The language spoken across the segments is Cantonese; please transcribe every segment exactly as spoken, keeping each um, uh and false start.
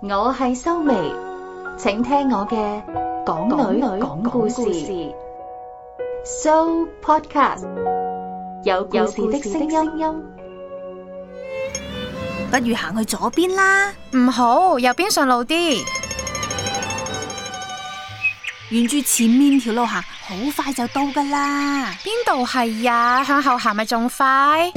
我係修眉，請聽我嘅港女講故事So Podcast， 有故事的聲音。 不如行去左邊啦。 唔好，右邊順路啲。 沿住前面條路行，好快就到噶啦。 邊度係呀？向後行咪仲快？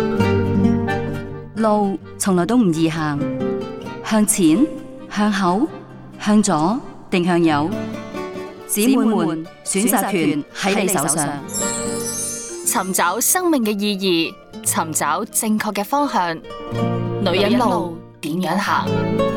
路從來都唔易行，向前、向後、向左定向右，姊妹們選擇權喺你手上。 尋找生命嘅意義，尋找正確嘅方向，女人路點樣行？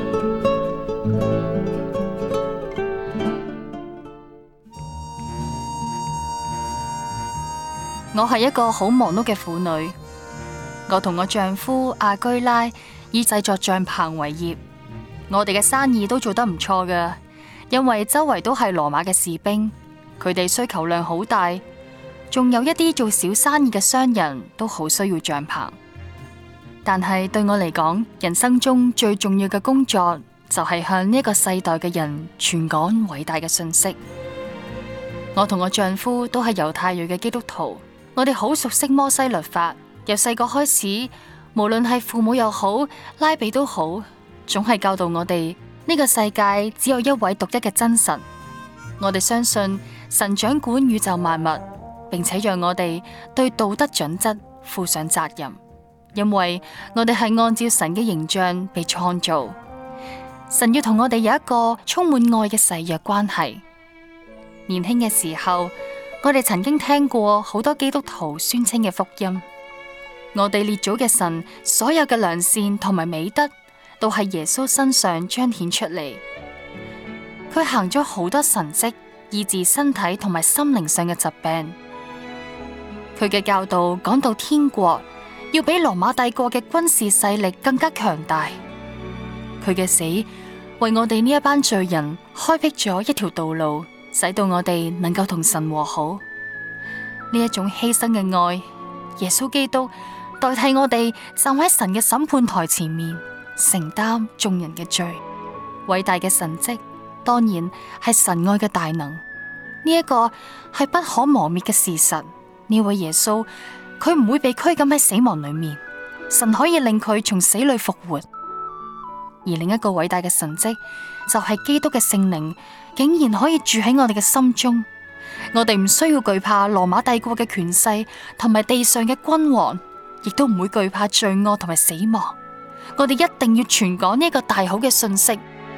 我係一個好忙碌嘅婦女，我同我丈夫阿居拉以製作帳篷為業，我哋嘅生意都做得唔錯㗎，因為周圍都係羅馬嘅士兵，佢哋需求量好大，仲有一啲做小生意嘅商人都好需要帳篷。但係對我嚟講，人生中最重要嘅工作就係向呢一個世代嘅人傳講偉大嘅信息。我同我丈夫都係猶太裔嘅基督徒，我哋好熟悉摩西律法，由細個開始，無論係父母又好，拉比都好，總係教導我哋呢個世界只有一位獨一嘅真神。我哋相信神掌管宇宙萬物，並且讓我哋對道德準則負上責任，因為我哋係按照神嘅形象被創造。神要同我哋有一個充滿愛嘅誓約關係。年輕嘅時候，我哋曾經聽過好多基督徒宣稱嘅福音。我哋列祖嘅神所有嘅良善同埋美德，都喺耶穌身上彰顯出嚟。佢行咗好多神蹟，醫治身體同埋心靈上嘅疾病。佢嘅教導講到天國要比羅馬帝國嘅軍事勢力更加強大。佢嘅死為我哋呢一班罪人開闢咗一條道路，使到我哋能夠同神和好。呢一種犧牲嘅愛，耶穌基督代替我哋站喺神嘅審判台前面，承擔眾人嘅罪。偉大嘅神蹟，當然係神愛嘅大能。呢一個係不可磨滅嘅事實。呢位耶穌，佢唔會被拘禁喺死亡裏面，神可以令佢從死裏復活。而另一個偉大嘅神蹟，就係基督嘅聖靈竟然可以住喺我哋嘅心中。我哋唔需要懼怕羅馬帝國嘅權勢同埋地上嘅君王，亦都唔會懼怕罪惡同埋死亡。我哋一定要傳講呢個大好嘅信息。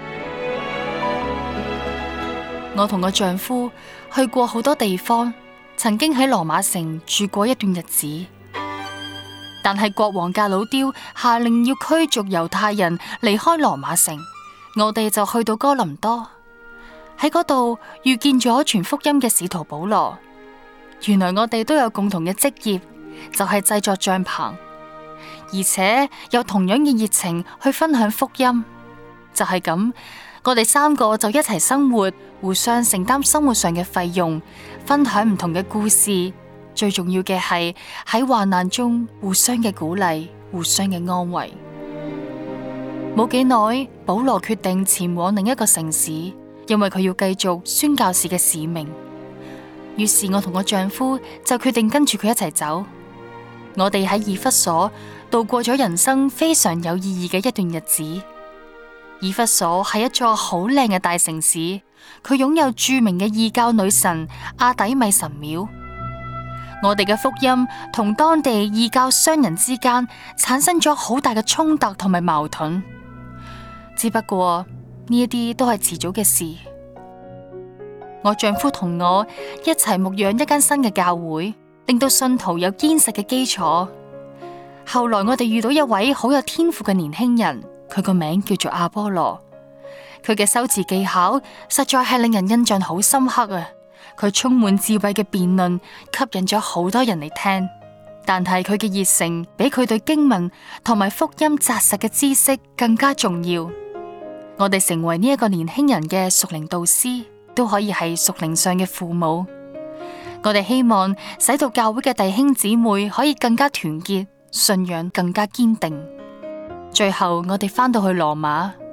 我同我丈夫去過好多地方，曾經喺羅馬城住過一段日子，但係國王格魯雕下令要驅逐猶太人離開羅馬城，我哋就去到哥林多，喺嗰度遇見咗傳福音嘅使徒保羅。原來我哋都有共同嘅職業，就係製作帳篷，而且有同樣嘅熱情去分享福音。就係咁，我哋三個就一齊生活，互相承擔生活上嘅費用，分享唔同嘅故事。最重要嘅係喺患難中互相嘅鼓勵，互相嘅安慰。冇幾耐，保羅決定前往另一個城市，因為佢要繼續宣教士嘅使命。於是我同我丈夫就決定跟住佢一齊走。我哋喺以弗所度過咗人生非常有意義嘅一段日子。以弗所係一座好靚嘅大城市，佢擁有著名嘅異教女神阿底米神廟。我哋嘅福音同當地異教商人之間產生咗好大嘅衝突同埋矛盾，只不過呢一啲都係遲早嘅事。我丈夫同我一齊牧養一間新嘅教會，令到信徒有堅實嘅基礎。後來我哋遇到一位好有天賦嘅年輕人，佢個名叫做阿波羅。佢嘅修辭技巧實在係令人印象好深刻啊！佢充滿智慧嘅辯論吸引咗好多人嚟聽，但係佢嘅熱誠比佢對經文同埋福音紮實嘅知識更加重要。我哋成為呢一個年輕人嘅屬靈導師，都可以係屬靈上嘅父母。我哋希望使到教會嘅弟兄姊妹可以更加團結，信仰更加堅定。最後我哋返到去羅馬。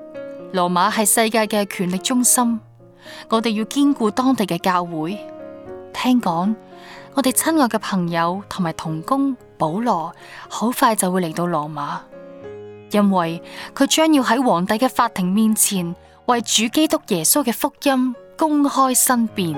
羅馬係世界嘅權力中心，我哋要堅固當地嘅教會。聽講，我哋親愛嘅朋友同埋同工保羅好快就會嚟到羅馬，因為佢將要喺皇帝嘅法庭面前為主基督耶穌嘅福音公開申辯。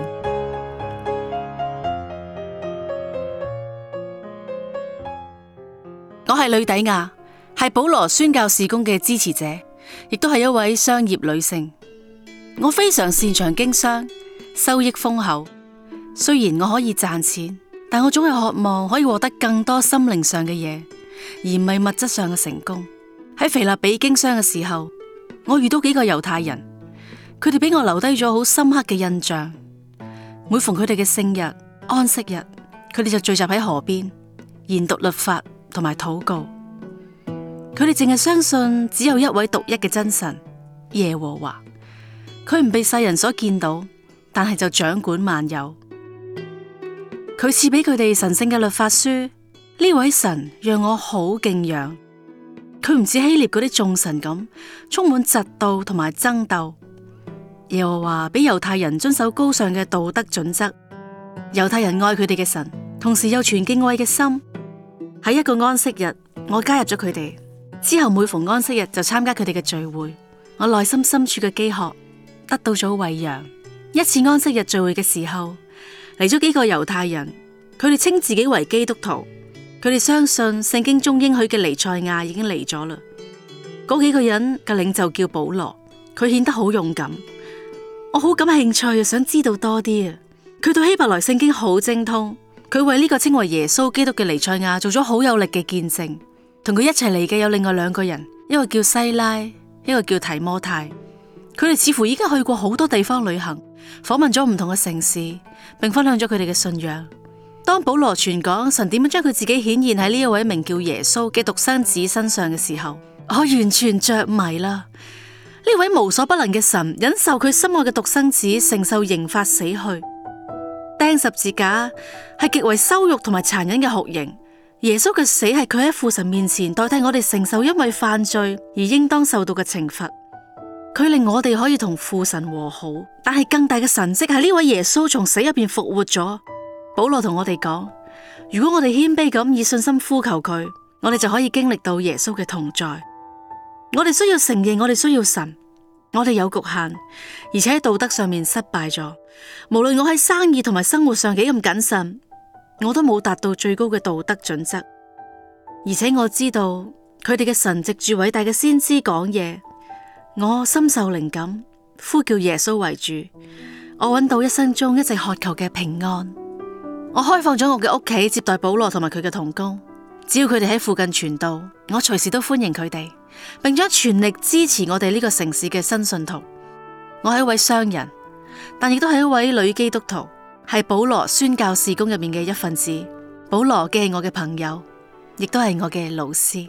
我係呂底亞，係保羅宣教事工嘅支持者，亦都係一位商業女性。我非常擅長經商，收益豐厚。雖然我可以賺錢，但我總係渴望可以獲得更多心靈上嘅嘢，而唔係物質上嘅成功。喺腓立比經商嘅時候，我遇到幾個猶太人，佢哋俾我留低咗好深刻嘅印象。每逢佢哋嘅聖日、安息日，佢哋就聚集喺河邊研讀律法同埋禱告。佢哋淨係相信只有一位獨一嘅真神耶和華，佢唔被世人所見到，但係就掌管萬有。佢賜俾佢哋神聖嘅律法書，呢位神讓我好敬仰。佢唔似希臘嗰啲眾神咁充滿嫉妒同埋爭鬥。耶和華俾猶太人遵守高尚嘅道德準則，猶太人愛佢哋嘅神，同時又存敬畏嘅心。喺一個安息日，我加入咗佢哋，之後每逢安息日就參加佢哋嘅聚會。我內心深處嘅飢渴得到咗餵養。一次安息日聚會嘅時候，嚟咗幾個猶太人，佢哋稱自己為基督徒，佢哋相信聖經中應許嘅彌賽亞已經嚟咗啦。嗰幾個人嘅領袖叫保羅，佢顯得好勇敢，我好感興趣，想知道多啲啊。佢對希伯來聖經好精通，佢為呢個稱為耶穌基督嘅彌賽亞做咗好有力嘅見證。同佢一齊嚟嘅有另外兩個人，一個叫西拉，一個叫提摩太。佢哋似乎已經去過好多地方旅行，訪問咗唔同嘅城市，並分享咗佢哋嘅信仰。當保羅傳講神點樣將佢自己顯現喺呢一位名叫耶穌嘅獨生子身上嘅時候，我完全着迷啦！呢位無所不能嘅神忍受佢心愛嘅獨生子承受刑罰死去，釘十字架係極為羞辱同埋殘忍嘅酷刑。耶穌嘅死係佢喺父神面前代替我哋承受因為犯罪而應當受到嘅懲罰。佢令我哋可以同父神和好，但係更大嘅神蹟係呢位耶穌從死入邊復活咗。保羅同我哋講，如果我哋謙卑咁以信心呼求佢，我哋就可以經歷到耶穌嘅同在。我哋需要承認我哋需要神，我哋有局限，而且喺道德上面失敗咗。無論我喺生意同埋生活上幾咁謹慎，我都冇達到最高嘅道德準則。而且我知道佢哋嘅神藉住偉大嘅先知講嘢，我深受靈感，呼叫耶穌為主。我揾到一生中一直渴求嘅平安。我開放咗我嘅屋企接待保羅同埋佢嘅同工，只要佢哋喺附近傳道，我隨時都歡迎佢哋，並將全力支持我哋呢個城市嘅新信徒。我係一位商人，但亦都係一位女基督徒，係保羅宣教事工入面嘅一份子。保羅既係我嘅朋友，亦都係我嘅老師。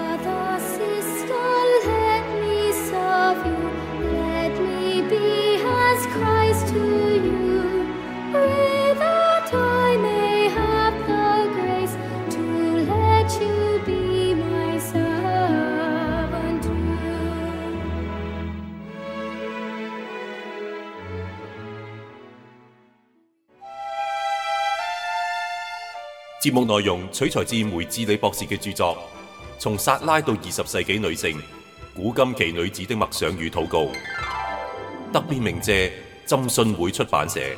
節目內容取材自梅智理博士嘅著作《從撒拉到二十世紀女性古今奇女子的默想與禱告》，特別鳴謝浸信會出版社。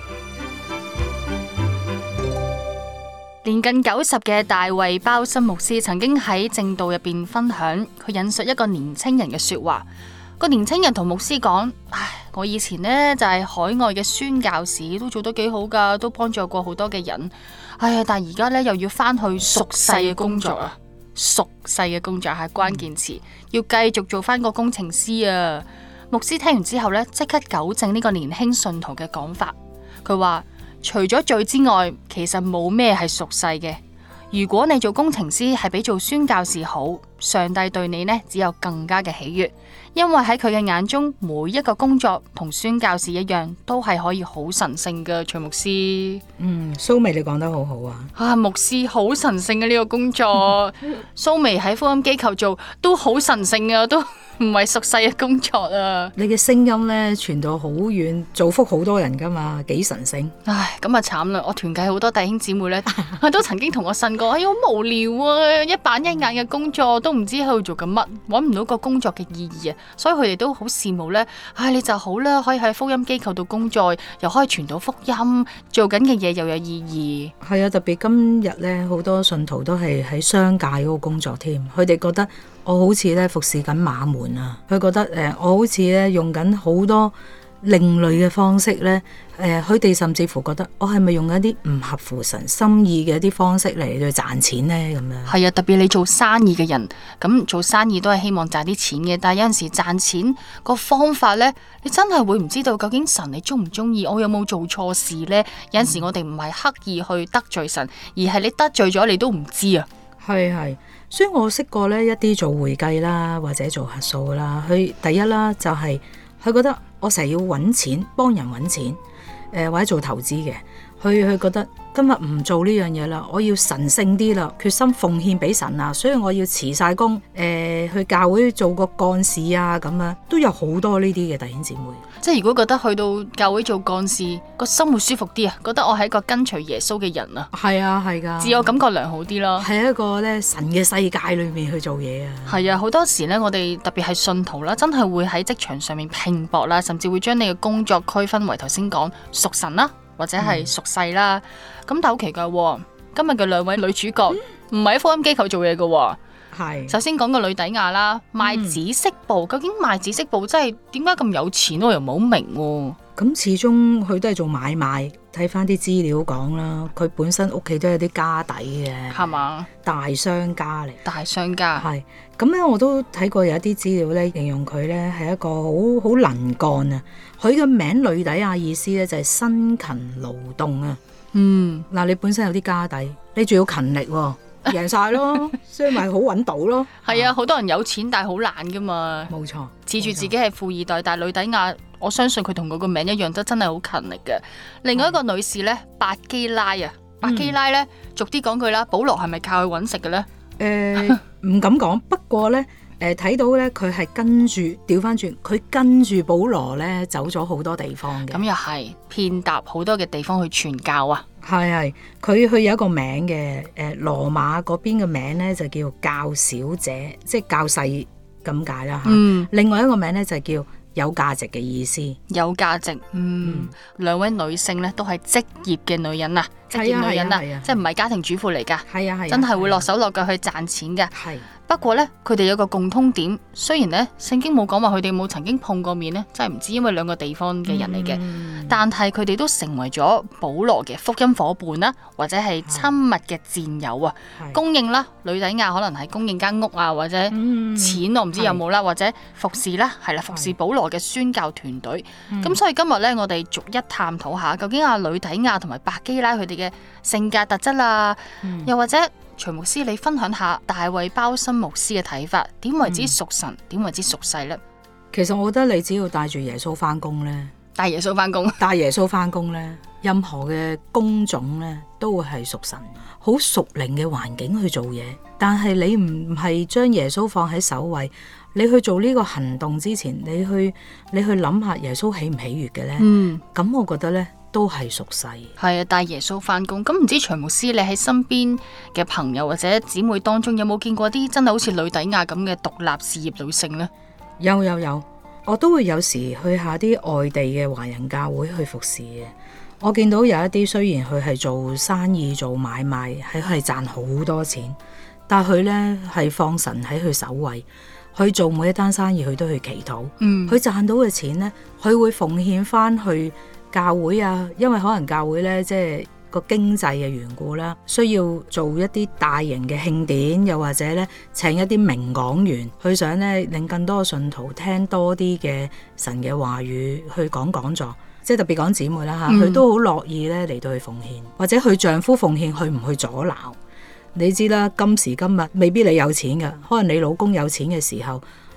年近九十嘅大衛鮑森牧師曾經喺正道入邊分享，佢引述一個年青人嘅說話。個年青人同牧師講：唉，我以前呢就係海外嘅宣教士，都做得幾好噶，都幫助過好多嘅人。哎呀，但係而家咧又要翻去屬世嘅工作啊！屬世嘅工作係關鍵詞，要繼續做翻個工程師啊！牧師聽完之後咧，即刻糾正呢個年輕信徒嘅講法。佢話：除咗罪之外，其實冇咩係屬世嘅。如果你做工程師係比做宣教士好，上帝對你呢只有更加嘅喜悅，因為喺佢嘅眼中，每一個工作同宣教士一樣，都係可以好神聖嘅。徐牧師， 嗯，蘇眉你講得好好啊！ 啊，牧師好神聖嘅呢個工作，蘇眉喺福音機構做都好神聖啊，都唔係俗世嘅工作啊。 你嘅聲音咧傳到好遠，造福好多人噶嘛，幾神聖。 唉，咁啊慘啦！我團契好多弟兄姊妹咧，佢都曾經同我呻過，哎呀好無聊啊，一板一眼嘅工作都唔知喺度做緊乜，搵唔到個工作嘅意義啊，所以佢哋都好羨慕咧。唉，你就好啦，可以喺福音機構度工作，又可以傳到福音，做緊嘅嘢又有意義。 係啊，特別今日咧，好多信徒都係喺商界嗰個工作添，佢哋覺得我好似咧服侍緊馬門啊，佢覺得誒、呃、我好似咧用緊好多另類嘅方式咧，誒佢哋甚至乎覺得我係咪用緊一啲唔合乎神心意嘅一啲方式嚟去賺錢咧咁樣？ 係啊，特別你做生意嘅人，咁做生意都係希望賺啲錢嘅，但係有陣時賺錢個方法咧，你真係會唔知道究竟神你中唔中意，我有冇做錯事咧？有陣時我哋唔係刻意去得罪神，而係你得罪咗你都唔知啊。 係係，所以我識過咧一啲做會計啦，或者做核數啦，佢第一啦就係、是、佢覺得我成日要揾錢，幫人揾錢，誒、呃、或者做投資嘅，佢佢覺得今日唔做呢樣嘢啦，我要神聖啲啦，決心奉獻俾神啊，所以我要辭晒工，誒、呃、去教會做個幹事啊，咁樣都有好多呢啲嘅弟兄姊妹。 即係如果覺得去到教會做幹事個心會舒服啲啊，覺得我係一個跟隨耶穌嘅人啊， 係啊係噶， 自我感覺良好啲咯， 係一個咧神嘅世界裏面去做嘢啊。 係啊，好多時咧我哋特別係信徒啦，真係會喺職場上面拼搏啦，甚至會將你嘅工作區分為頭先講屬神啦，或者係屬世啦。咁、嗯、但好奇怪，今日嘅兩位女主角唔係喺福音機構做嘢嘅。係，首先講個呂底亞啦，賣紫色布，嗯、究竟賣紫色布真係點解咁有錢？我又唔好明喎。 咁始終佢都係做買賣，睇翻啲資料講啦，佢本身屋企都有啲家底嘅， 係嘛？ 大商家嚟， 大商家係。咁咧，我都睇過有一啲資料咧，形容佢咧係一個好好能幹啊。佢嘅名呂底亞意思咧就係辛勤勞動啊。嗯，嗱，你本身有啲家底，你仲要勤力喎。贏晒咯，所以咪好揾到咯。 係啊，好多人有錢但係好懶噶嘛。 冇錯， 恃住自己係富二代，但係呂底亞，我相信佢同佢個名一樣，都真係好勤力嘅。另外一個女士咧，百基拉啊，百基拉咧，逐啲講句啦，保羅係咪靠佢揾食嘅咧？ 誒，唔敢講，不過咧，誒睇到咧，佢係跟住調翻轉，佢跟住保羅咧走咗好多地方嘅。 咁又係遍踏好多嘅地方去傳教啊。 係係，佢佢有一個名嘅，誒羅馬嗰邊嘅名咧就叫教小姐，即係教細咁解啦嚇。嗯、另外一個名咧就叫有價值嘅意思。 有價值，嗯，嗯兩位女性咧都係職業嘅女人啊，職業女人啊，啊啊即係唔係家庭主婦嚟㗎，係啊係，啊真係會落手落腳去賺錢㗎。係。不過咧，佢哋有個共通點，雖然咧聖經冇講話佢哋冇曾經碰過面咧，真係唔知，因為兩個地方嘅人嚟嘅。嗯、但係佢哋都成為咗保羅嘅福音伙伴啦，或者係親密嘅戰友啊。是供應啦，呂底亞可能係供應間屋啊，或者錢我唔知有冇啦，是或者服侍啦，係啦，服侍保羅嘅宣教團隊。咁、嗯、所以今日咧，我哋逐一探討下，究竟阿呂底亞同埋百基拉佢哋嘅性格特質啊，嗯、又或者。徐牧師，你分享下大衛鮑森牧師嘅睇法，點為之屬神，點、嗯、為之屬世呢？ 其實我覺得你只要帶住耶穌翻工呢， 帶耶穌翻工， 帶耶穌翻工呢，任何嘅工種呢都會係屬神，好屬靈嘅環境去做嘢。但係你唔係將耶穌放喺首位，你去做呢個行動之前，你去你去諗下耶穌喜唔喜悅嘅呢？嗯，咁我覺得呢。都係屬世， 係啊，帶耶穌翻工。咁唔知徐牧師，你喺身邊嘅朋友或者姊妹當中，有冇見過啲真係好似呂底亞咁嘅獨立事業女性呢？ 有有有，我都會有時去下啲外地嘅華人教會去服侍嘅。我見到有一啲雖然佢係做生意做買賣，係係賺好多錢，但係佢呢係放神喺佢首位，去做每一單生意佢都去祈禱。嗯，佢賺到嘅錢呢，佢會奉獻翻去。教會啊，因為可能教會咧，即係個經濟嘅緣故啦，需要做一啲大型嘅慶典，又或者咧請一啲名講員，佢想咧令更多嘅信徒聽多啲嘅神嘅話語，去講講座，即係特別講姊妹啦嚇，佢、嗯、都好樂意咧嚟到去奉獻，或者佢丈夫奉獻，佢唔去阻撓。你知啦，今時今日未必你有錢㗎，可能你老公有錢嘅時候。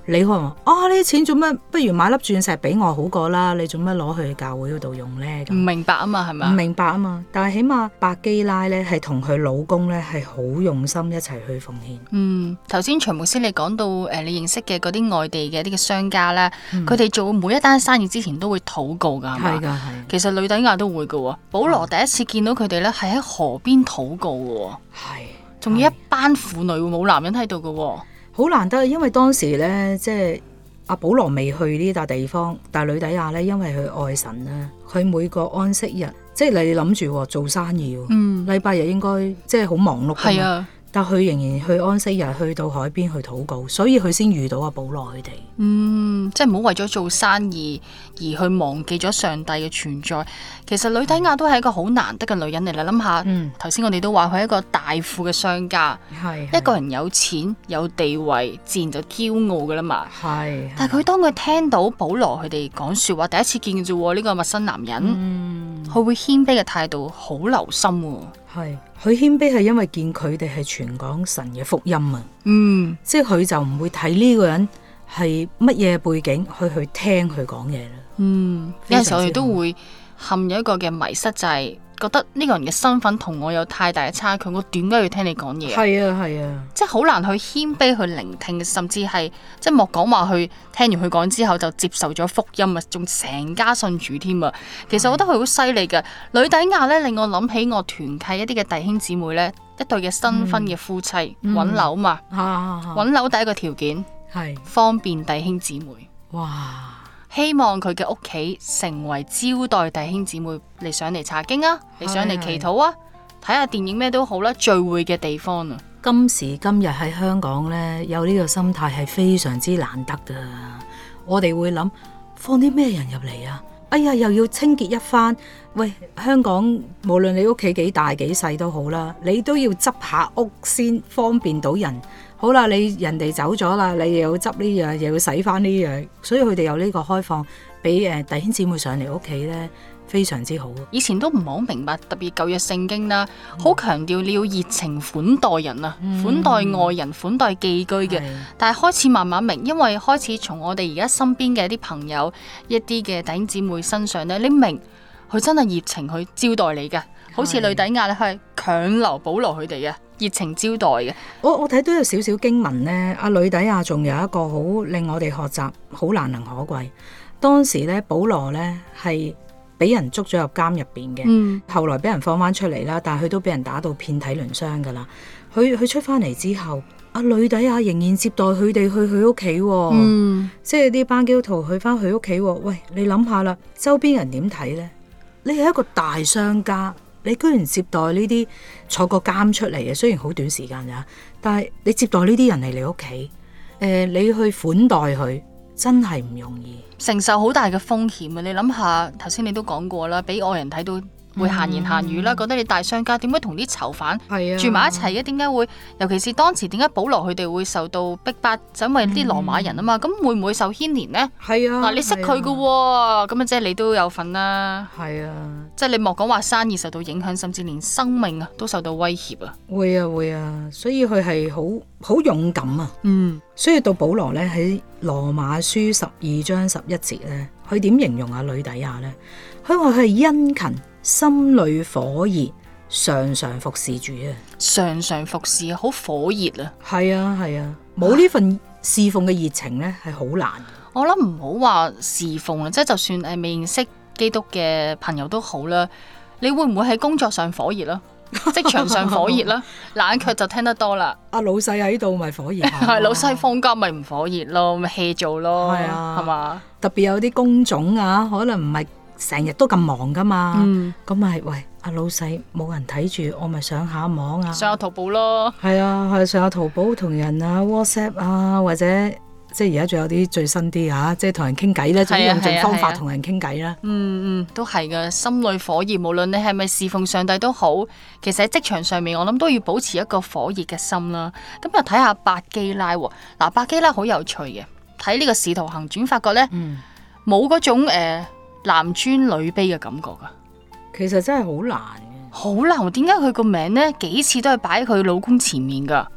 你可能話啊，呢啲錢做咩？不如買粒鑽石俾我好過啦，你做咩攞去教會嗰度用呢？ 唔明白啊嘛，係咪？ 唔明白啊嘛，但係起碼百基拉咧係同佢老公咧係好用心一齊去奉獻。 嗯，頭先徐牧師你講到誒、呃，你認識嘅嗰啲外地嘅啲嘅商家咧，佢哋、嗯、做每一單生意之前都會禱告㗎，係嘛？係㗎，係。其實呂底亞都會㗎喎。保羅第一次見到佢哋咧，係喺河邊禱告㗎喎。係。仲要一班婦女，冇男人喺度㗎喎。 好難得，因為當時咧，即係阿保羅未去呢笪地方，但係呂底亞咧，因為佢愛神咧，佢每個安息日，即係你諗住做生意，嗯，禮拜日應該即係好忙碌㗎嘛。係啊。但佢仍然去安息日，去到海邊去禱告，所以佢先遇到阿保羅佢哋。 嗯，即係唔好為咗做生意而去忘記咗上帝嘅存在。其實呂底亞都係一個好難得嘅女人嚟啦。諗下，頭先、嗯、我哋都話佢係一個大富嘅商家，係一個人有錢有地位，自然就驕傲噶啦嘛。係，但係佢當佢聽到保羅佢哋講說話，第一次見嘅啫，呢、這個陌生男人，佢、嗯、會謙卑嘅態度好留心。 係，佢謙卑係因為見佢哋係傳講神嘅福音啊，嗯，即係佢就唔會睇呢個人係乜嘢背景去去聽佢講嘢啦。嗯， 有陣時我哋都會陷入一個嘅迷失，就係、是、覺得呢個人嘅身份同我有太大嘅差距，我點解要聽你講嘢？係啊係啊，即係好難去謙卑去聆聽，甚至係即係莫講話去聽完佢講之後就接受咗福音啊，仲成家信主添啊！其實我覺得佢好犀利嘅。呂底亞咧令我諗起我團契一啲嘅弟兄姊妹咧，一對嘅新婚嘅夫妻揾、嗯、樓嘛，揾、嗯、樓第一個條件係是方便弟兄姊妹。哇！希望佢嘅屋企成為招待弟兄姊妹嚟上嚟查經啊，嚟上嚟祈禱啊，睇下電影咩都好啦，聚會嘅地方啊。 今時今日喺香港呢，有呢個心態係非常之難得噶。我哋會諗放啲咩人入嚟啊？哎呀，又要清潔一番。喂，香港無論你屋企幾大幾細都好啦，你都要執下屋先方便到人。好啦，你人哋走咗啦，你又要執呢樣，又要洗翻呢樣，所以佢哋有呢個開放俾誒弟兄姊妹上嚟屋企咧，非常之好。 以前都唔係好明白，特別舊約聖經啦，好強調你要熱情款待人啊，嗯、款待外人，款待寄居嘅。是但係開始慢慢明，因為開始從我哋而家身邊嘅一啲朋友、一啲嘅弟兄姊妹身上咧，你明佢真係熱情去招待你嘅，好似呂底亞咧係強留保羅佢哋嘅。熱情招待嘅， 我我睇到有少少經文呢，阿呂底亞仲有一個好令我哋學習，好難能可貴。當時咧，保羅咧係俾人捉咗入監入邊嘅，嗯、後來俾人放翻出嚟啦，但係佢都俾人打到遍體鱗傷噶啦。佢佢出翻嚟之後，阿呂底亞仍然接待佢哋去佢屋企，嗯、即係啲班基督徒去翻佢屋企。喂，你諗下啦，周邊人點睇呢？你係一個大商家。你居然接待呢啲坐過監出嚟嘅，雖然好短時間咋，但係你接待呢啲人嚟你屋企，誒、呃，你去款待佢，真係唔容易， 承受好大嘅風險啊！你諗下，頭先你都講過啦，俾外人睇到會閒言閒語啦，嗯、覺得你大商家點解同啲囚犯住埋一齊嘅？點解會？尤其是當時點解保羅佢哋會受到逼迫，就因為啲羅馬人啊嘛，咁、嗯、會唔會受牽連呢？係啊，嗱，你識佢噶，咁啊，即係你都有份啦。係啊，即係你莫講話生意受到影響，甚至連生命啊都受到威脅啊。會啊會啊，所以佢係好好勇敢啊。嗯，所以到保羅咧喺羅馬書十二章十一節咧，佢點形容阿呂底亞咧？佢話佢係殷勤。心裏火熱，常常服侍主啊！ 常常服侍，好火熱啊！ 係啊係啊，冇呢份侍奉嘅熱情咧，係好難。 我諗唔好話侍奉啊，即係就算誒未認識基督嘅朋友都好啦。你會唔會喺工作上火熱啦？職場上火熱啦？冷卻就聽得多啦。 阿老細喺度咪火熱， 係老細放假咪唔火熱咯，咪 hea 做咯，係啊，係嘛？ 特別有啲工種啊，可能唔係。成日都咁忙噶嘛，咁咪、嗯、喂阿老細冇人睇住，我咪上下網啊， 上下淘寶咯， 係啊，係上下淘寶同人啊 WhatsApp 啊，或者即係而家仲有啲最新啲啊，即係同人傾偈咧，總之用盡方法同人傾偈啦。 嗯嗯，都係噶，心裏火熱，無論你係咪侍奉上帝都好，其實喺職場上面，我諗都要保持一個火熱嘅心啦。咁又睇下百基拉喎，嗱百基拉好有趣嘅，睇呢個使徒行傳發覺咧，冇嗰、嗯、種誒。呃男尊女卑嘅感覺噶， 其實真係好難嘅， 好難。點解佢個名咧幾次都係擺喺佢老公前面噶？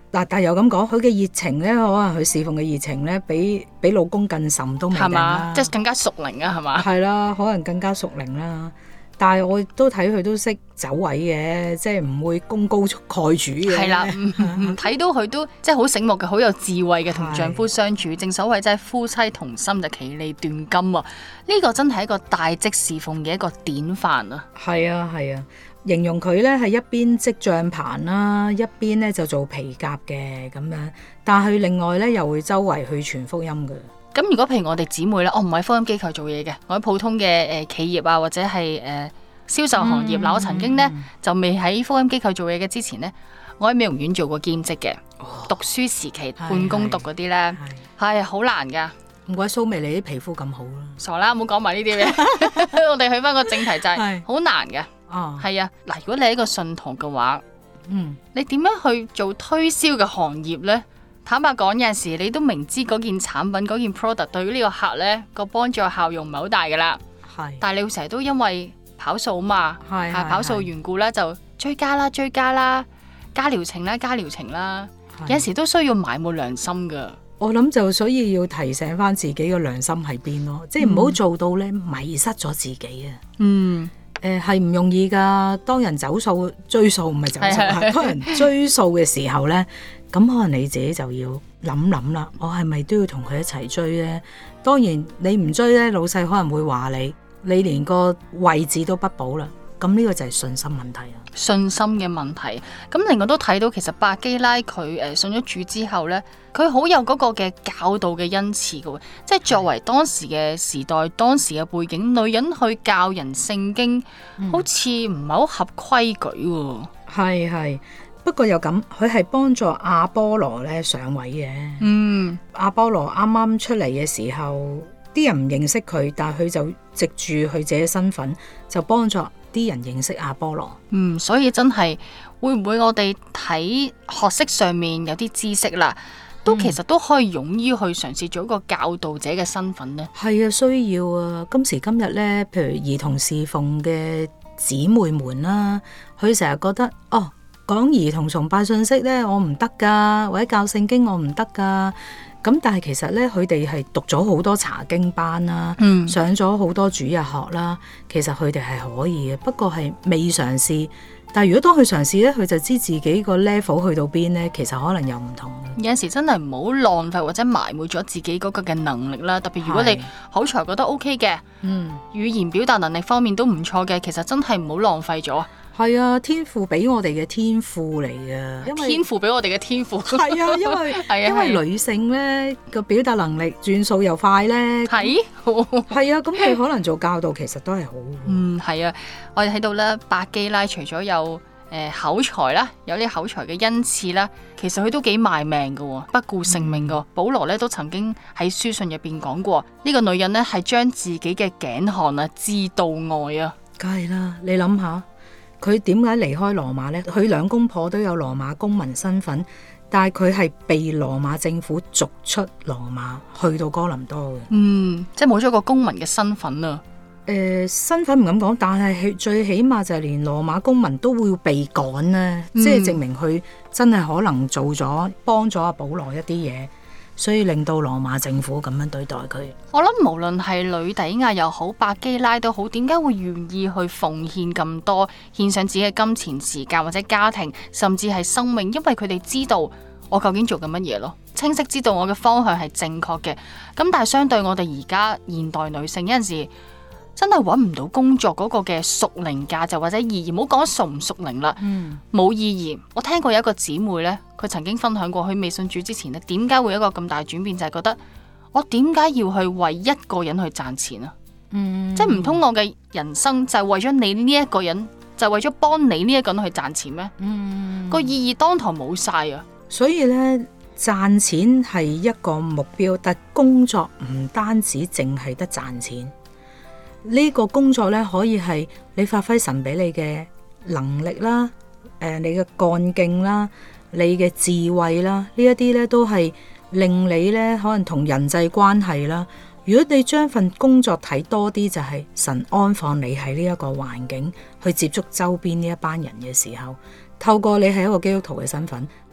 嗱，但係又咁講，佢嘅熱情咧，可能佢侍奉嘅熱情咧，比比老公更甚都未定係嘛啦。 即係更加屬靈啊，係嘛？ 係啦，可能更加屬靈啦。但係我都睇佢都識走位嘅，即係唔會功高蓋主嘅。 係啦，唔睇到佢都即係好醒目嘅，好有智慧嘅，同丈夫相處。正所謂即係夫妻同心就其利斷金啊！呢個真係一個大職侍奉嘅一個典範啊！ 係啊係啊，形容佢咧係一邊織帳棚啦，一邊咧就做皮革嘅咁樣。但係另外咧又會周圍去傳福音嘅。 咁如果譬如我哋姊妹咧，我唔喺福音機構做嘢嘅，我喺普通嘅誒、呃、企業啊，或者係誒、呃、銷售行業。嗱、嗯，我曾經咧、嗯、就未喺福音機構做嘢嘅之前咧，我喺美容院做過兼職嘅。哦、讀書時期半工讀嗰啲咧，係好難噶。 唔怪蘇眉你啲皮膚咁好啦。 傻啦，唔好講埋呢啲嘢。我哋去翻個正題就係、是、好難嘅。哦，係啊。嗱，如果你係一個信徒嘅話，嗯，你點樣去做推銷嘅行業咧？坦白講，有陣時你都明知嗰件產品、嗰件 product 對於呢個客咧個幫助效用唔係好大噶啦，係，但係你會成日都因為跑數嘛，係跑數緣故咧就追加啦、追加啦、加療程啦、加療程啦，有陣時都需要埋沒良心噶。 我諗就所以要提醒翻自己嘅良心喺邊咯，即係唔好做到咧迷失咗自己啊。嗯。誒係唔容易㗎，當人走數追數唔係走數啊，當人追數嘅時候咧，咁可能你自己就要諗諗啦，我係咪都要同佢一齊追咧？當然你唔追咧，老細可能會話你，你連個位置都不保啦。咁呢個就係信心問題啊！ 信心嘅問題。咁另外都睇到，其實百基拉佢誒信咗主之後咧，佢好有嗰個嘅教導嘅恩賜嘅喎。即係作為當時嘅時代、當時嘅背景，女人去教人聖經，嗯、好似唔係好合規矩喎。 係係，不過又咁，佢係幫助亞波羅咧上位嘅。嗯，亞波羅啱啱出嚟嘅時候，啲人唔認識佢，但係佢就藉住佢自己身份，就幫助啲人認識亞波羅。 嗯，所以真係會唔會我哋睇學識上面有啲知識啦，都其實都可以勇於去嘗試做一個教導者嘅身份呢？ 係啊，需要啊！今時今日呢，譬如兒童侍奉嘅姊妹們啦，佢成日覺得哦，講兒童崇拜信息呢，我唔得噶，或者教聖經我唔得噶。咁但係其實咧，佢哋係讀咗好多查經班啦，嗯、上咗好多主日學啦。其實佢哋係可以嘅，不過係未嘗試。但係如果當佢嘗試咧，佢就知自己個 level 去到邊咧，其實可能又唔同。 有陣時真係唔好浪費或者埋沒咗自己嗰個嘅能力啦。特別如果你口才覺得 OK 嘅，嗯、語言表達能力方面都唔錯嘅，其實真係唔好浪費咗。 係啊，天父俾我哋嘅天賦嚟嘅，因為天父俾我哋嘅天賦。 係啊，因為啊因為女性咧個表達能力轉數又快咧，係係啊，咁佢可能做教導其實都係好。 嗯，係啊，我哋睇到咧，百基拉除咗有誒、呃、口才啦，有啲口才嘅恩賜啦，其實佢都幾賣命㗎，不顧性命㗎。嗯、保羅咧都曾經喺書信入邊講過，呢、這個女人咧係將自己嘅頸項啊置度外啊。 梗係啦，你諗下。佢點解離開羅馬呢？佢兩公婆都有羅馬公民身份，但係佢係被羅馬政府逐出羅馬，去到哥林多嘅。嗯， 即係冇咗個公民嘅身份啊。 誒、呃，身份唔敢講，但係最起碼就係連羅馬公民都會被趕呢，嗯、即係證明佢真係可能做咗幫咗阿保羅一啲嘢。所以令到羅馬政府咁樣對待佢。 我諗無論係呂底亞又好，百基拉都好，點解會願意去奉獻咁多，獻上自己嘅金錢、時間或者家庭，甚至係生命？因為佢哋知道我究竟做緊乜嘢咯，清晰知道我嘅方向係正確嘅。咁但係相對我哋而家現代女性，有陣時真係揾唔到工作嗰個嘅屬靈價值或者意義，唔好講屬唔屬靈啦，冇、嗯、意義。我聽過有一個姊妹呢，佢曾經分享過，佢未信主之前呢，點解會有一個咁大轉變，就係、是、覺得我點解要去為一個人去賺錢啊？嗯、即係唔通我嘅人生就係為咗你呢一個人，就係、為咗幫你呢一個人去賺錢咩？嗯、個意義當堂冇晒啊！ 所以呢，賺錢係一個目標，但工作唔單止淨係得賺錢。呢個工作咧，可以係你發揮神俾你嘅能力啦，誒、呃，你嘅幹勁啦，你嘅智慧啦，呢一啲咧都係令你咧可能同人際關係啦。如果你將份工作睇多啲，就係神安放你喺呢一個環境去接觸周邊呢一班人嘅時候，透過你係一個基督徒嘅身份，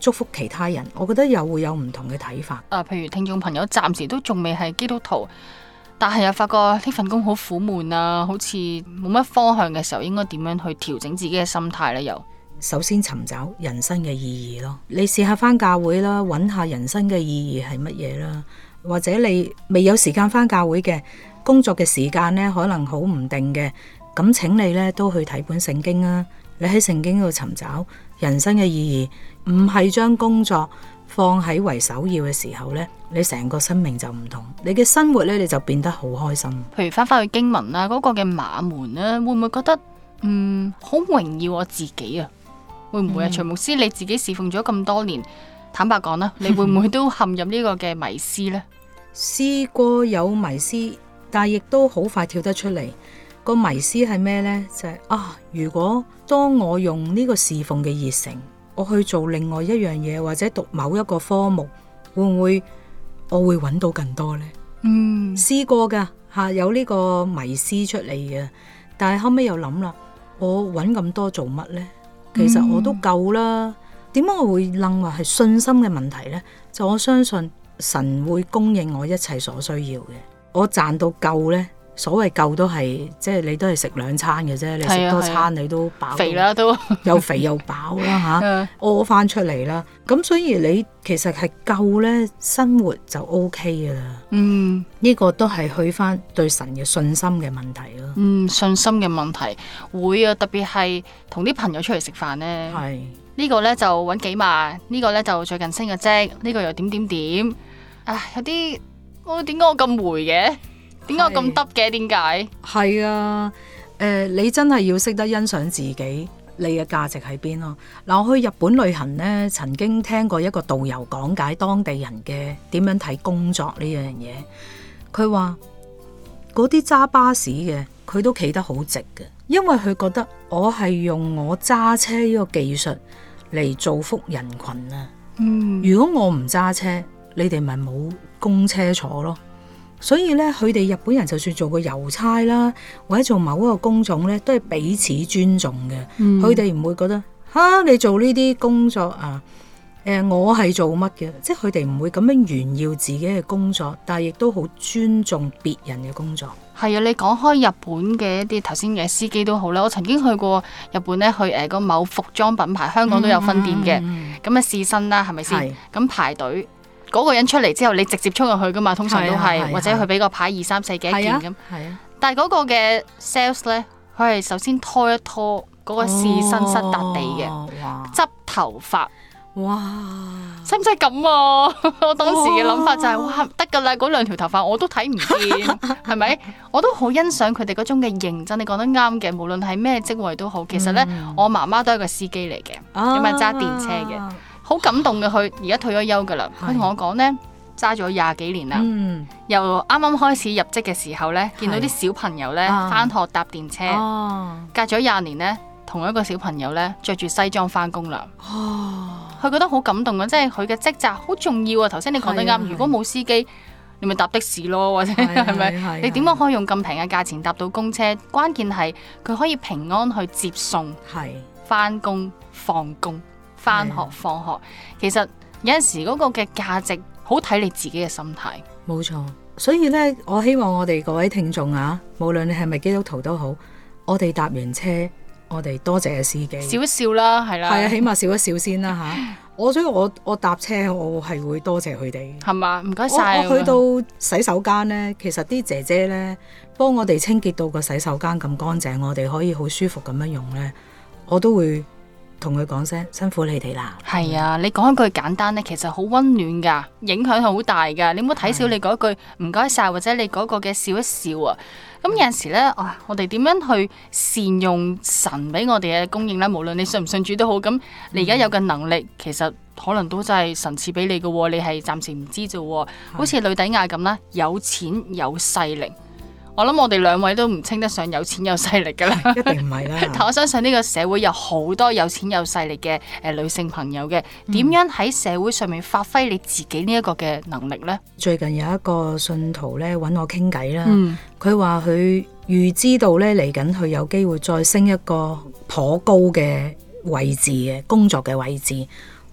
祝福其他人，我覺得又會有唔同嘅睇法。 啊，譬如聽眾朋友暫時都仲未係基督徒，但係又發覺呢份工好苦悶啊，好似冇乜方向嘅時候，應該點樣去調整自己嘅心態呢？又首先尋找人生嘅意義咯，你試下返教會啦，揾下人生嘅意義係乜嘢啦，或者你未有時間返教會嘅，工作嘅時間呢可能好唔定嘅，咁請你呢都去睇本聖經啊，你喺聖經度尋找人生嘅意義，唔係將工作放喺為首要嘅時候呢，你成個生命就唔同，你嘅生活呢，你就變得好開心。 譬如翻返去經文啦，嗰、那個嘅馬門咧，會唔會覺得嗯好榮耀我自己啊？會唔會啊？徐、嗯、牧師你自己侍奉咗咁多年，坦白講啦，你會唔會都陷入呢個嘅迷思呢？ 試過有迷思，但係亦都好快跳得出嚟。個迷思係咩呢？就係、是、啊，如果當我用呢個侍奉嘅熱誠，我去做另外一樣嘢，或者讀某一個科目，會唔會我會揾到更多呢？嗯，試過噶吓，有呢個迷思出嚟嘅，但係後尾又諗啦，我揾咁多做乜呢？其實我都夠啦。點解、嗯、我會諗話係信心嘅問題呢？就我相信神會供應我一切所需要嘅，我賺到夠呢。所謂夠都係，即係你都係食兩餐嘅啫，你食多餐你都飽， 肥啦都又肥又飽啦吓，屙翻出嚟啦。咁所以你其實係夠咧，生活就 O K 嘅啦。嗯，呢個都係去翻對神嘅信心嘅問題咯。 嗯，信心嘅問題會啊，特別係同啲朋友出嚟食飯咧。係呢個咧就搵幾萬，呢個咧就最近升嘅職，呢個又點點點。唉，有啲我點解我咁霉嘅？點解我咁得嘅？點解？係啊，誒、呃，你真係要識得欣賞自己，你嘅價值喺邊咯。嗱，我去日本旅行呢，曾經聽過一個導遊講解當地人嘅點樣睇工作呢樣嘢。佢話嗰啲揸巴士嘅，佢都企得好直嘅，因為佢覺得我係用我揸車呢個技術嚟造福人群啊。嗯，如果我唔揸車，你哋咪冇公車坐咯。所以咧，佢哋日本人就算做個郵差啦，或者做某一個工種咧，都係彼此尊重嘅。佢哋唔會覺得吓你做呢啲工作啊，誒、呃，我係做乜嘅？即係佢哋唔會咁樣炫耀自己嘅工作，但係亦都好尊重別人嘅工作。 係啊，你講開日本嘅一啲頭先嘅司機都好啦，我曾經去過日本咧，去誒個某服裝品牌，香港都有分店嘅，咁啊試身啦，係咪先？咁排隊。嗰個人出嚟之後，你直接衝入去噶嘛？通常都係，啊啊、或者佢俾個牌二三四幾一件咁。係啊。但係嗰個嘅 sales 咧，佢係首先拖一拖嗰個試身室笪地嘅，執、哦、頭髮。哇！使唔使咁啊？我當時嘅諗法就係、是，哇，得噶啦！嗰兩條頭髮我都睇唔見，係咪？我都好欣賞佢哋嗰種嘅認真。你講得啱嘅，無論係咩職位都好。其實咧，嗯、我媽媽都係個司機嚟嘅，咁啊揸電車嘅。好感動嘅，佢而家退咗休噶啦。佢同我講呢，揸咗廿幾年啦。嗯、由啱啱開始入職嘅時候呢，見到啲小朋友呢返學搭電車，啊、隔咗廿年呢，同一個小朋友呢着住西裝返工啦。佢、啊、覺得好感動啊！即係佢嘅職責好重要啊。頭先你講得啱，如果冇司機，你咪搭的士咯，或者係咪？你點樣可以用咁平嘅價錢搭到公車？關鍵係佢可以平安去接送，返工放工。翻學放學，其實有陣時嗰個嘅價值好睇你自己嘅心態。冇錯， 所以咧，我希望我哋各位聽眾啊，無論你係咪基督徒都好，我哋搭完車，我哋多謝嘅司機， 笑一笑啦，係啦， 係啊，起碼笑一笑先啦吓。我所以我我搭車，我係會多謝佢哋， 係嘛，唔該晒。 我去到洗手間咧，其實啲姐姐咧幫我哋清潔到個洗手間咁乾淨，我哋可以好舒服咁樣用咧，我都會同佢講聲辛苦你哋啦。係啊，你講一句簡單咧，其實好溫暖噶，影響好大噶。你唔好睇少你嗰句唔該晒，或者你嗰個嘅笑一笑啊。咁有陣時咧，啊，我哋點樣去善用神俾我哋嘅供應咧？無論你信唔信主都好，咁你而家有嘅能力，其實可能都真係神賜俾你嘅，你係暫時唔知啫。好似呂底亞咁啦，有錢有勢力。我諗我哋兩位都唔稱得上有錢有勢力噶啦， 一定唔係啦。 但我相信呢個社會有好多有錢有勢力嘅誒女性朋友嘅，點樣喺社會上面發揮你自己呢一個嘅能力呢？ 最近有一個信徒咧揾我傾偈啦，佢話佢預知道咧嚟緊佢有機會再升一個頗高嘅位置嘅工作嘅位置，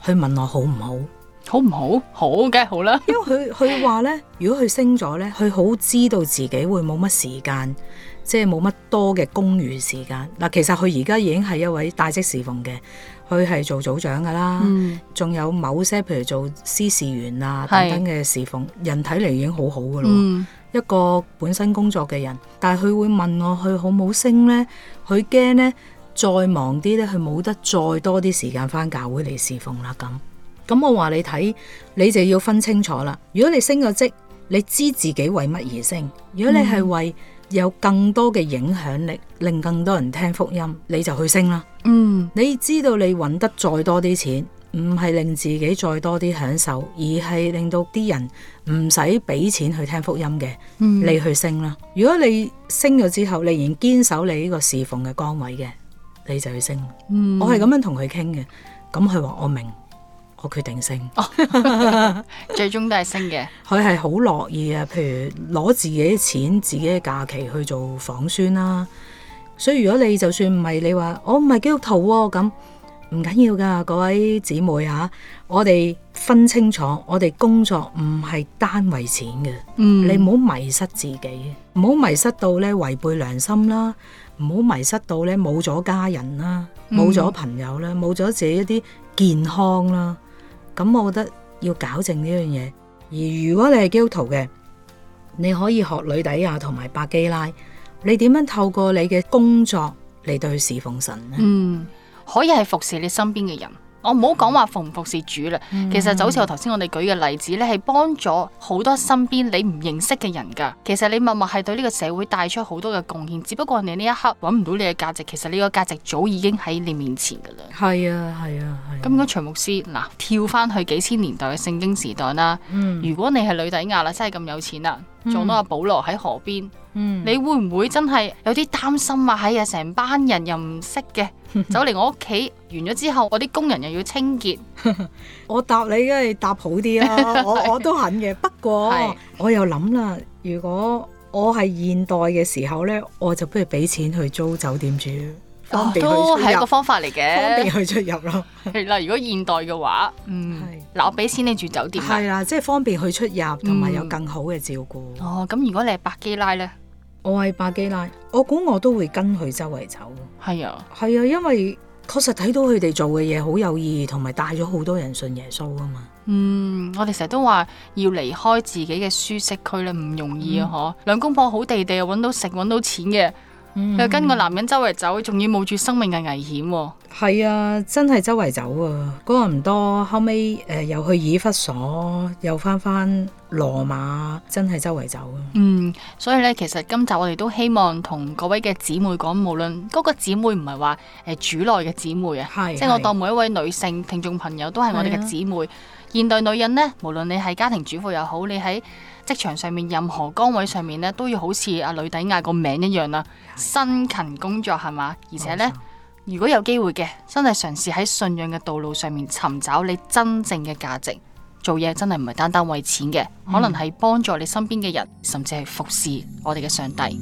去問我好唔好。 好唔好？好嘅，好啦。 因為佢佢話咧，如果佢升咗咧，佢好知道自己會冇乜時間，即係冇乜多嘅公餘時間。嗱，其實佢而家已經係一位帶職侍奉嘅，佢係做組長噶啦，仲、嗯、有某些譬如做司事員啊等等嘅侍奉，人睇嚟已經好好噶咯。嗯、一個本身工作嘅人，但係佢會問我佢好冇升咧，佢驚咧再忙啲咧，佢冇得再多啲時間返教會嚟侍奉啦咁。咁我話你睇，你就要分清楚啦。如果你升咗職，你知自己為乜而升。如果你係為有更多嘅影響力，令更多人聽福音，你就去升啦。嗯，你知道你揾得再多啲錢，唔係令自己再多啲享受，而係令到啲人唔使俾錢去聽福音嘅，嗯、你去升啦。如果你升咗之後，你仍然堅守你呢個侍奉嘅崗位嘅，你就去升。嗯、我係咁樣同佢傾嘅，咁佢話我明。我決定升，哦、 最終都係升嘅。 佢係好樂意啊，譬如攞自己嘅錢、自己嘅假期去做訪宣啦。所以如果你就算唔係你話我唔係基督徒喎，咁唔緊要噶，各位姊妹嚇，我哋分清楚，我哋工作唔係單為錢嘅。嗯，你唔好迷失自己，唔好迷失到咧違背良心啦，唔好迷失到咧冇咗家人啦，冇咗朋友啦，冇咗自己一啲健康啦。咁我覺得要搞正呢樣嘢，而如果你係基督徒嘅，你可以學呂底亞同埋百基拉，你點樣透過你嘅工作嚟對侍奉神呢？ 嗯，可以係服侍你身邊嘅人。我唔好講話服唔服侍主啦，嗯、其實就好似我頭先我哋舉嘅例子咧，係幫咗好多身邊你唔認識嘅人噶。其實你默默係對呢個社會帶出好多嘅貢獻，只不過你呢一刻揾唔到你嘅價值，其實你個價值早已經喺你面前噶啦。 係啊，係啊，係。咁應該徐牧師嗱，跳翻去幾千年代嘅聖經時代啦。嗯、如果你係呂底亞啦，真係咁有錢啦，撞到阿保羅喺河邊。嗯、你會唔會真係有啲擔心啊？喺啊，成班人又唔識嘅，走嚟我屋企，完咗之後，我啲工人又要清潔。 我答你梗係答好啲啦，我我都肯嘅。不過是我又諗啦，如果我係現代嘅時候呢，我就不如俾錢去租酒店住，方便去出入。 都係一個方法嚟嘅， 方便去出入咯。 係啦，如果現代嘅話，嗯，嗱是，我俾錢你住酒店。 係啦，即係方便去出入，同埋有更好嘅照顧。 嗯、哦，咁如果你係百基拉呢？ 我係百基拉，我估我都會跟佢周圍走。 係啊， 係啊，因為確實睇到佢哋做嘅嘢好有意義，同埋帶咗好多人信耶穌啊嘛。 嗯，我哋成日都話要離開自己嘅舒適區咧，唔容易啊！嗬、嗯，兩公婆好地地，揾到食，揾到錢嘅。嗯、又跟個男人周圍走，仲要冒住生命嘅危險喎。 係啊，真係周圍走啊！哥林多後尾誒、呃、又去以弗所，又翻翻羅馬，真係周圍走啊！ 嗯，所以咧，其實今集我哋都希望同各位嘅姊妹講，無論嗰個姊妹唔係話誒主內嘅姊妹啊，是即係我當每一位女性聽眾朋友都係我哋嘅姊妹。現代女人呢，無論你係家庭主婦又好，你喺職場上面任何崗位上面呢，都要好似阿呂底亞個名一樣啦，辛勤工作係嘛？而且呢，如果有機會嘅，真係嘗試喺信仰嘅道路上面尋找你真正嘅價值。做嘢真係唔係單單為錢嘅，可能係幫助你身邊嘅人，甚至係服侍我哋嘅上帝。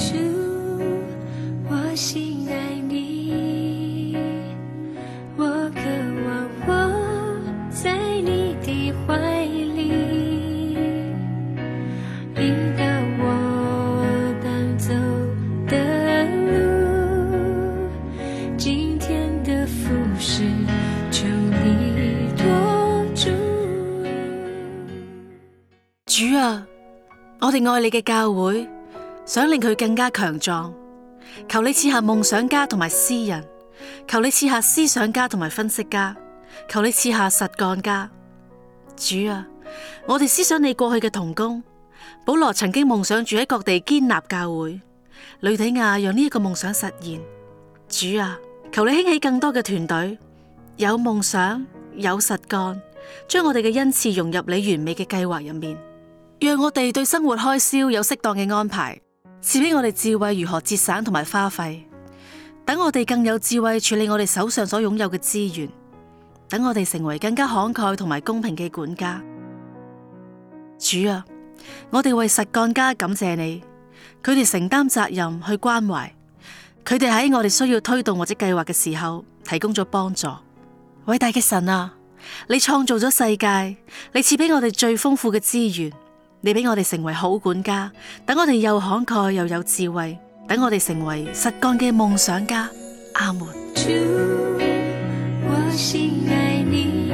主啊，我哋愛你嘅教會，想令佢更加強壯。求你賜下夢想家同埋詩人，求你賜下思想家同埋分析家，求你賜下實幹家。主啊，我哋思想你過去嘅同工，保羅曾經夢想住喺各地堅立教會，呂底亞讓呢一個夢想實現。主啊，求你興起更多嘅團隊，有夢想，有實幹，將我哋嘅恩賜融入你完美嘅計劃入面。讓我哋對生活開銷有適當嘅安排，賜俾我哋智慧如何節省同埋花費，等我哋更有智慧處理我哋手上所擁有嘅資源，等我哋成為更加慷慨同埋公平嘅管家。主啊，我哋為實幹家感謝你，佢哋承擔責任去關懷，佢哋喺我哋需要推動或者計劃嘅時候提供咗幫助。偉大嘅神啊， 你創造咗世界，你賜俾我哋最豐富嘅資源，你俾我哋成為好管家，等我哋又慷慨又有智慧，等我哋成為實幹嘅夢想家。阿門。 主，我心愛你，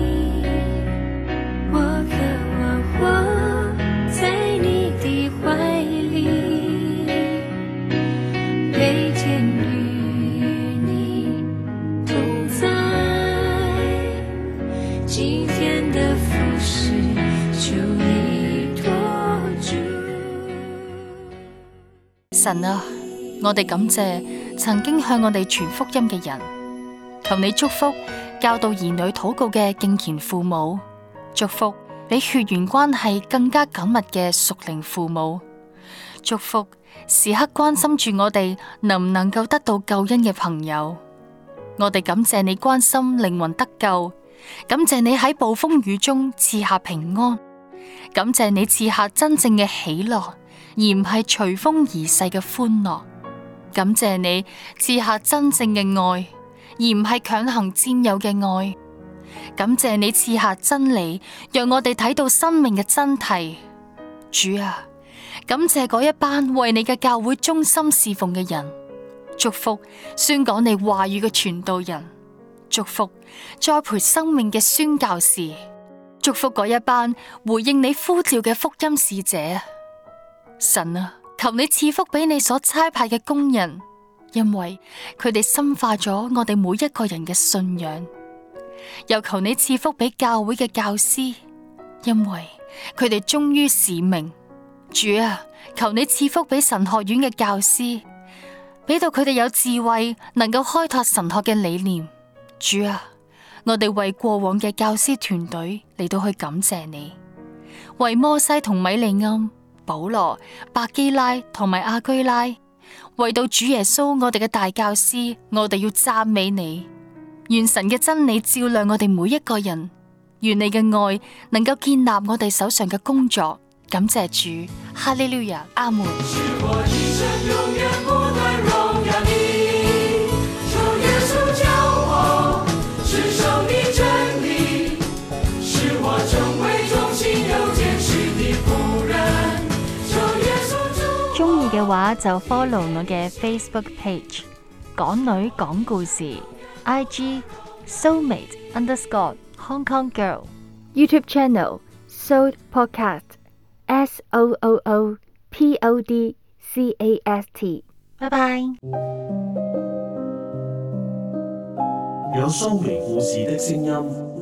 我渴望活在你的懷裡，每天與你同在，今天的服事求你托住。 神啊，我哋感謝曾經向我哋傳福音嘅人，求你祝福教導兒女禱告嘅敬虔父母，祝福比血緣關係更加緊密嘅屬靈父母，祝福時刻關心住我哋能唔能夠得到救恩嘅朋友。我哋感謝你關心靈魂得救，感謝你喺暴風雨中賜下平安，感謝你賜下真正嘅喜樂，而唔係隨風而逝嘅歡樂。感謝你賜下真正嘅愛，而唔係強行佔有嘅愛。感謝你賜下真理，讓我哋睇到生命嘅真諦。主啊，感謝嗰一班為你嘅教會忠心侍奉嘅人，祝福宣講你話語嘅傳道人，祝福栽培生命嘅宣教士，祝福嗰一班回應你呼召嘅福音使者。神啊，求你賜福俾你所差派嘅工人，因為佢哋深化咗我哋每一個人嘅信仰。又求你賜福俾教會嘅教師，因為佢哋忠於使命。主啊，求你賜福俾神學院嘅教師，俾到佢哋有智慧，能夠開拓神學嘅理念。主啊，我哋為過往嘅教師團隊嚟到去感謝你，為摩西同米利暗、保羅、百基拉同埋亞居拉，為到主耶穌我哋嘅大教師，我哋要讚美你。願神嘅真理照亮我哋每一個人，願你嘅愛能夠建立我哋手上嘅工作。感謝主，哈利路亞，阿門。 中意嘅話就 follow 我嘅 Facebook page 港女講故事， I G Soulmate underscore Hong Kong Girl， YouTube channel Soul Podcast S O O O P O D C A S T。拜拜。 有蘇眉故事的聲音。